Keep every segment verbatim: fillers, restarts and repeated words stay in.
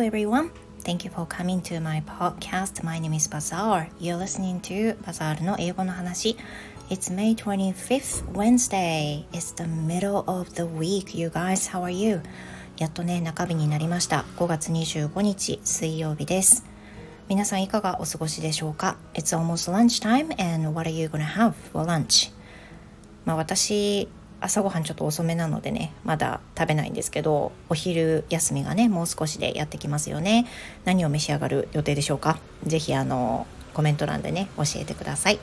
everyone. Thank you for coming to my podcast. My name is Bazaar. You're listening to Bazaar の英語の話。It's May twenty-fifth, Wednesday. It's the middle of the week. You guys, how are you? やっとね、中日になりました。ごがつにじゅうごにち水曜日です。皆さんいかがお過ごしでしょうか？ It's almost lunchtime and what are you gonna have for lunch? まあ私朝ごはんちょっと遅めなのでねまだ食べないんですけど、お昼休みがねもう少しでやってきますよね。何を召し上がる予定でしょうか？ぜひあのコメント欄でね教えてください。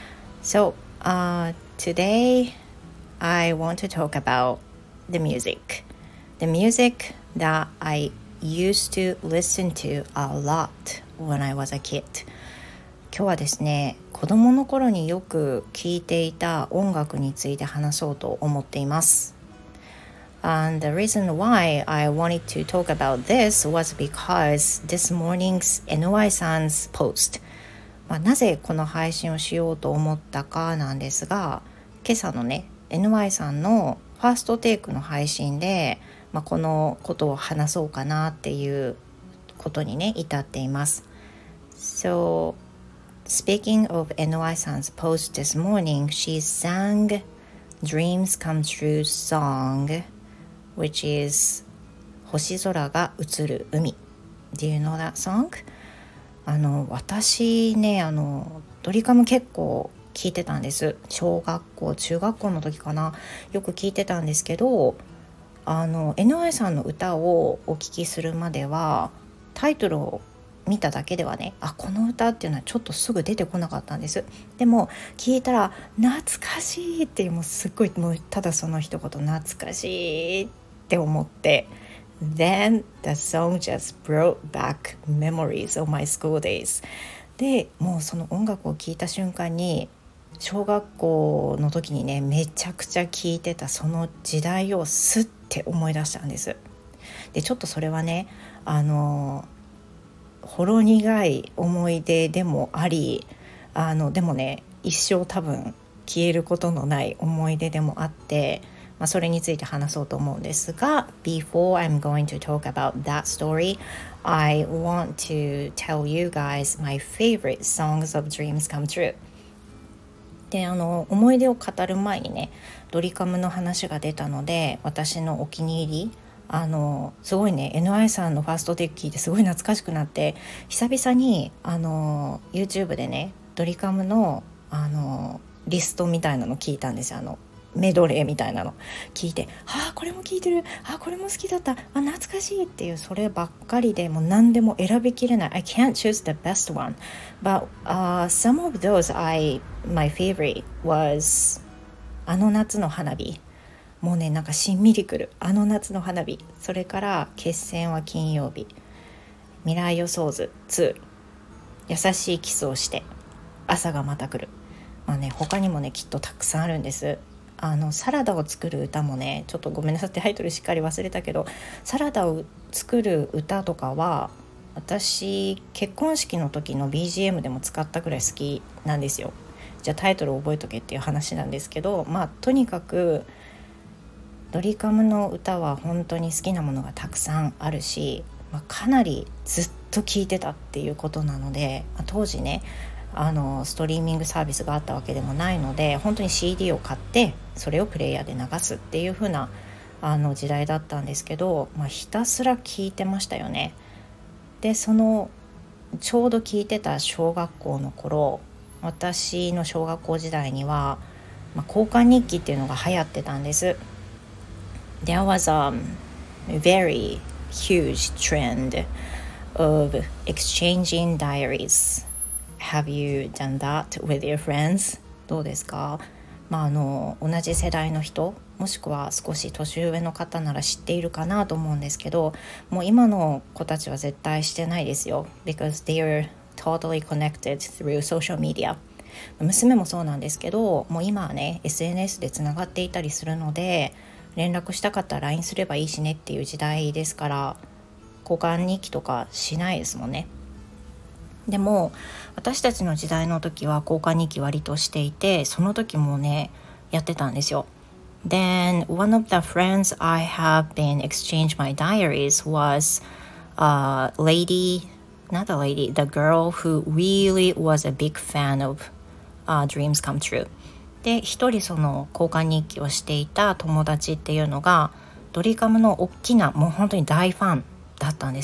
So、uh, today I want to talk about the music the music that I used to listen to a lot when I was a kid。今日はですね、子供の頃によく聴いていた音楽について話そうと思っています。And the reason why I wanted to talk about this was because this morning's エヌワイ さん 's post、まあ、なぜこの配信をしようと思ったかなんですが、今朝のね エヌワイ さんのファーストテイクの配信で、まあ、このことを話そうかなっていうことにね至っています。 So speaking of エヌワイ さん 's post this morning, she sang Dreams Come True song, which is 星空が映る海。 Do you know that song? あの私ねあのドリカム結構聞いてたんです。小学校中学校の時かな、よく聞いてたんですけど、あの エヌワイ さんの歌をお聞きするまではタイトルを見ただけではね、あこの歌っていうのはちょっとすぐ出てこなかったんです。でも聞いたら懐かしいっていう、もうすっごいもうただその一言懐かしいって思って、 Then the song just brought back memories of my school days。 でもうその音楽を聞いた瞬間に小学校の時にねめちゃくちゃ聴いてたその時代をスッて思い出したんです。でちょっとそれはねあのほろ苦い思い出でもあり、あのでもね一生多分消えることのない思い出でもあって、まあ、それについて話そうと思うんですが、 Before I'm going to talk about that story, I want to tell you guys my favorite songs of Dreams Come True。であの思い出を語る前にねドリカムの話が出たので、私のお気に入りあのすごいね エヌワイ さんのファーストテイク聞いてすごい懐かしくなって、久々にあの YouTube でねドリカムのあのリストみたいなの聞いたんですよ。あのメドレーみたいなの聞いて、あこれも聞いてる、あこれも好きだった、あ懐かしいっていう、そればっかりでもう何でも選びきれない。 I can't choose the best one but、uh, some of those I my favorite was あの夏の花火。もうねなんかしんみりくるあの夏の花火。それから決戦は金曜日、未来予想図ツー、優しいキスをして朝がまた来る。まあね他にもねきっとたくさんあるんです。あのサラダを作る歌もねちょっとごめんなさいタイトルしっかり忘れたけど、サラダを作る歌とかは私結婚式の時の ビージーエム でも使ったくらい好きなんですよ。じゃあタイトル覚えとけっていう話なんですけど、まあとにかくドリカムの歌は本当に好きなものがたくさんあるし、まあ、かなりずっと聴いてたっていうことなので、まあ、当時ねあのストリーミングサービスがあったわけでもないので、本当に シーディー を買ってそれをプレイヤーで流すっていう風なあの時代だったんですけど、まあ、ひたすら聴いてましたよね。でそのちょうど聴いてた小学校の頃、私の小学校時代には、まあ、交換日記っていうのが流行ってたんです。There was a very huge trend of exchanging diaries. Have you done that with your friends? どうですか？まあ、あの同じ世代の人もしくは少し年上の方なら知っているかなと思うんですけど、もう今の子たちは絶対してないですよ。Because they are totally connected through social media。娘もそうなんですけど、もう今はね エスエヌエス でつながっていたりするので、連絡したかったら ライン すればいいしねっていう時代ですから、交換日記とかしないですもんね。でも私たちの時代の時は交換日記割としていて、その時もねやってたんですよ。Then one of the friends I have been exchanged my diaries was uh, lady, not the lady, the girl who really was a big fan of、uh, Dreams Come True で、一人その交換日記をしていた友達っていうのがドリカムの大きなもう本当に大ファンだったんです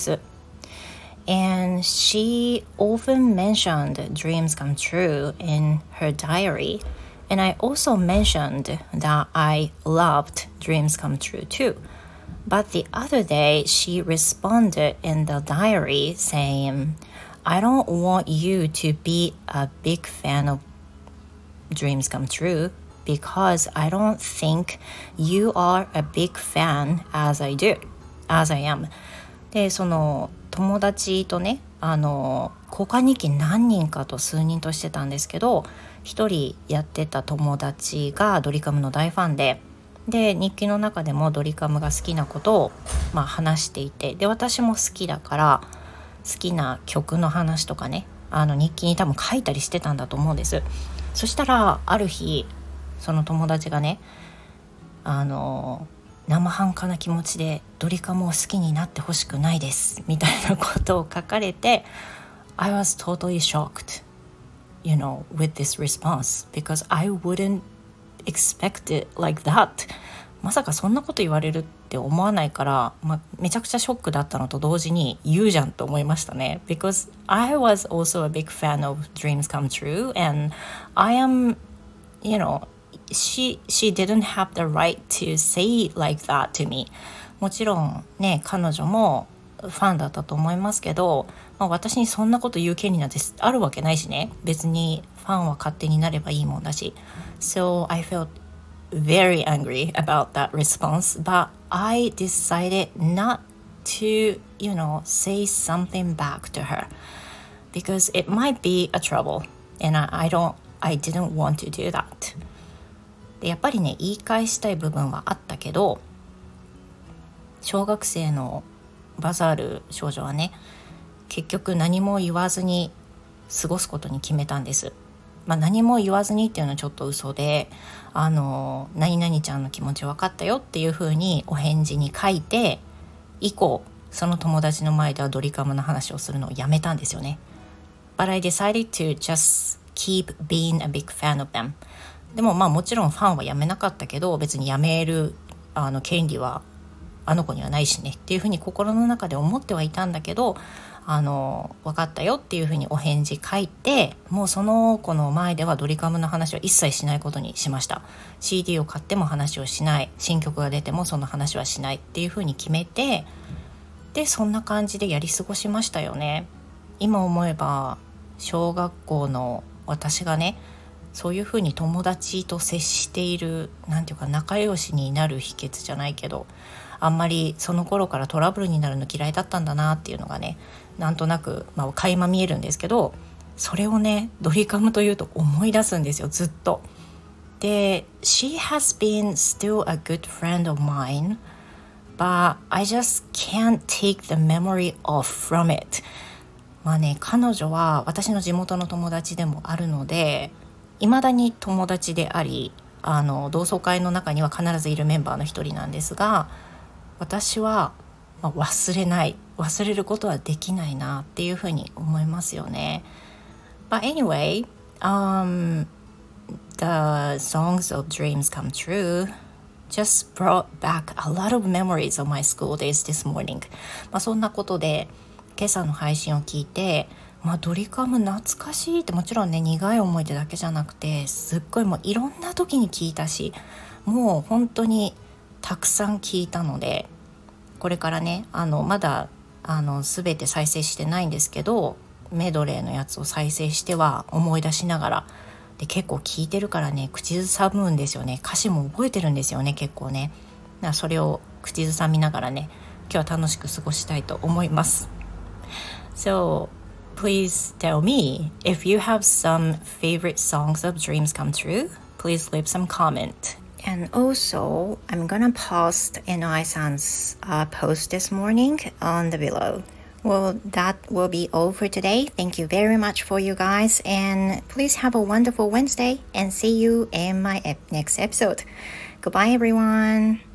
。And she often mentioned Dreams Come True in her diary. And I also mentioned that I loved Dreams Come True too. But the other day, she responded in the diary saying, I don't want you to be a big fan of Dreams Come True because I don't think you are a big fan as I do, as I am. で、その友達とね、あの交換日記何人かと数人としてたんですけど、一人やってた友達がドリカムの大ファンで、で日記の中でもドリカムが好きなことを、まあ、話していて、で私も好きだから好きな曲の話とかね、あの日記に多分書いたりしてたんだと思うんです。そしたらある日その友達がね、あの生半可な気持ちでドリカムを好きになってほしくないですみたいなことを書かれて、 I was totally shocked, you know, with this response because I wouldn't expect it like that. まさかそんなこと言われるって思わないから、まあ、めちゃくちゃショックだったのと同時に言うじゃんと思いましたね。 Because I was also a big fan of Dreams Come True and I am, you know, she, she didn't have the right to say like that to me. もちろんね、彼女もファンだったと思いますけど、まあ、私にそんなこと言う権利なんてあるわけないしね、別にファンは勝手になればいいもんだし。 So I felt very angry about that response, but I decided not to, you know, say something back to her because it might be a trouble and I, I don't, I didn't want to do that. でやっぱりね、言い返したい部分はあったけど、小学生のバザール少女はね、結局何も言わずに過ごすことに決めたんです。まあ、何も言わずにっていうのはちょっと嘘で、あの何々ちゃんの気持ち分かったよっていう風にお返事に書いて、以降その友達の前ではドリカムの話をするのをやめたんですよね。 But I decided to just keep being a big fan of them. でもまあもちろんファンはやめなかったけど、別にやめるあの権利はあの子にはないしねっていうふうに心の中で思ってはいたんだけど、あの分かったよっていうふうにお返事書いて、もうその子の前ではドリカムの話は一切しないことにしました。 シーディー を買っても話をしない、新曲が出てもその話はしないっていうふうに決めて、でそんな感じでやり過ごしましたよね。今思えば小学校の私がね、そういうふうに友達と接している、なんていうか仲良しになる秘訣じゃないけど、あんまりその頃からトラブルになるの嫌いだったんだなっていうのがね、なんとなく、まあ、垣間見えるんですけど、それをねドリカムというと思い出すんですよ、ずっと。で She has been still a good friend of mine, but I just can't take the memory off from it. まあね、彼女は私の地元の友達でもあるので、未だに友達であり、あの同窓会の中には必ずいるメンバーの一人なんですが、私は忘れない、忘れることはできないなっていうふうに思いますよね。But anyway, um, the songs of Dreams Come True just brought back a lot of memories of my school days this morning. まあそんなことで今朝の配信を聞いて、まあ、ドリカム懐かしいって、もちろんね苦い思い出だけじゃなくて、すっごいもういろんな時に聞いたし、もう本当にたくさん聞いたので、これからね、あのまだあの全て再生してないんですけど、メドレーのやつを再生しては思い出しながらで、結構聞いてるからね口ずさむんですよね。歌詞も覚えてるんですよね、結構ね。だからそれを口ずさみながらね、今日は楽しく過ごしたいと思います。 So please tell me if you have some favorite songs of Dreams Come True. Please leave some comment.And also, I'm gonna post Enoi-san's uh, post this morning on the below. Well, that will be all for today. Thank you very much for you guys, and please have a wonderful Wednesday, and see you in my ep- next episode. Goodbye, everyone.